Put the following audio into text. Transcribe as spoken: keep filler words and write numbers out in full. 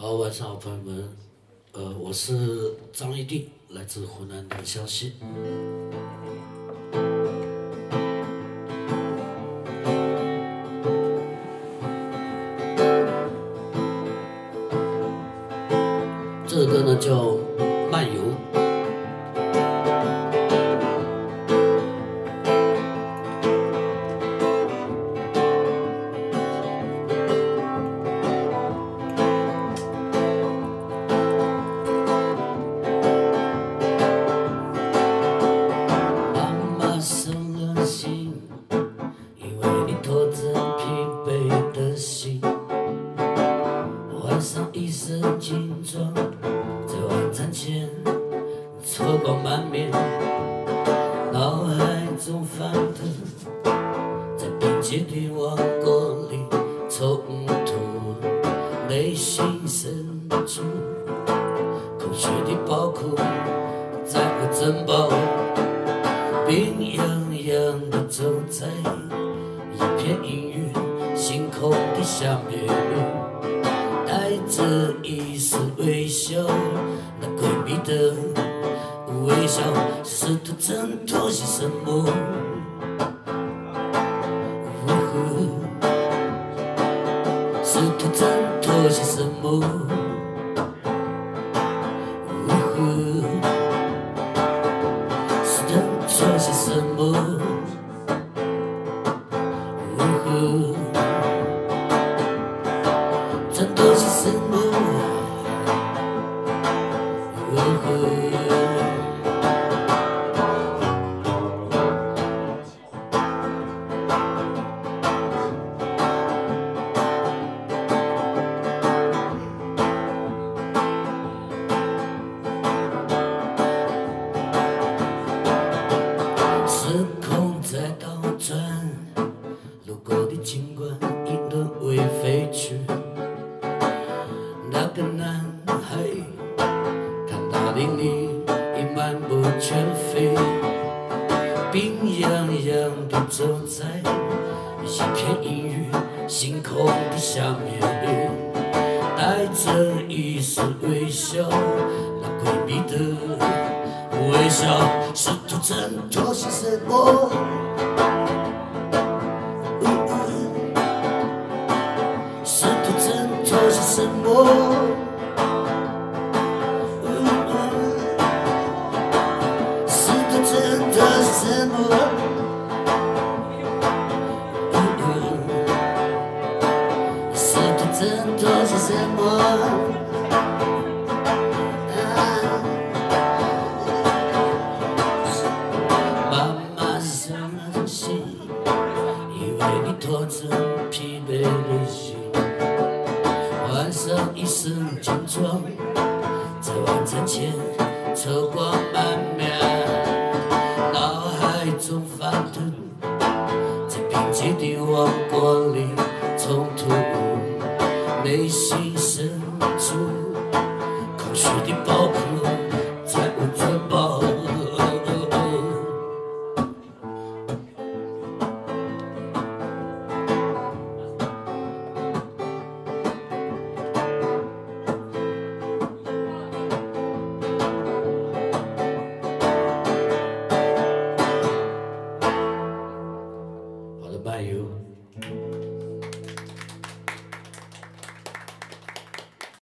好，晚上好，朋友们，呃，我是张一定，来自湖南的湘西。这首歌呢叫《漫游》。拖着疲惫的心，换上一身劲装，在晚餐前愁光满面，脑海中翻腾，在并肩的王国里冲突，内心深处空虚的宝库，在我珍宝，冰洋洋的走在一片阴云，星空的下面，带着一丝微笑，那诡秘的微笑，试图挣脱些什么。试图挣脱些什么。试图挣脱些什么。挣脱些什么？时空在倒转，路过的景观已沦为废墟。那个男孩看大林里已满目全非，病怏怏地走在一片阴雨星空的下面，带着一丝微笑，那诡秘的微笑，试图挣脱些什么。试图挣脱些什么？试图挣脱些什么？试图挣脱些什么？妈妈伤了心，以为你拖着疲惫的心。换上一身劲装，在晚餐前愁光满面，脑海中翻腾，在并肩的王国里冲突，内心深处空虚的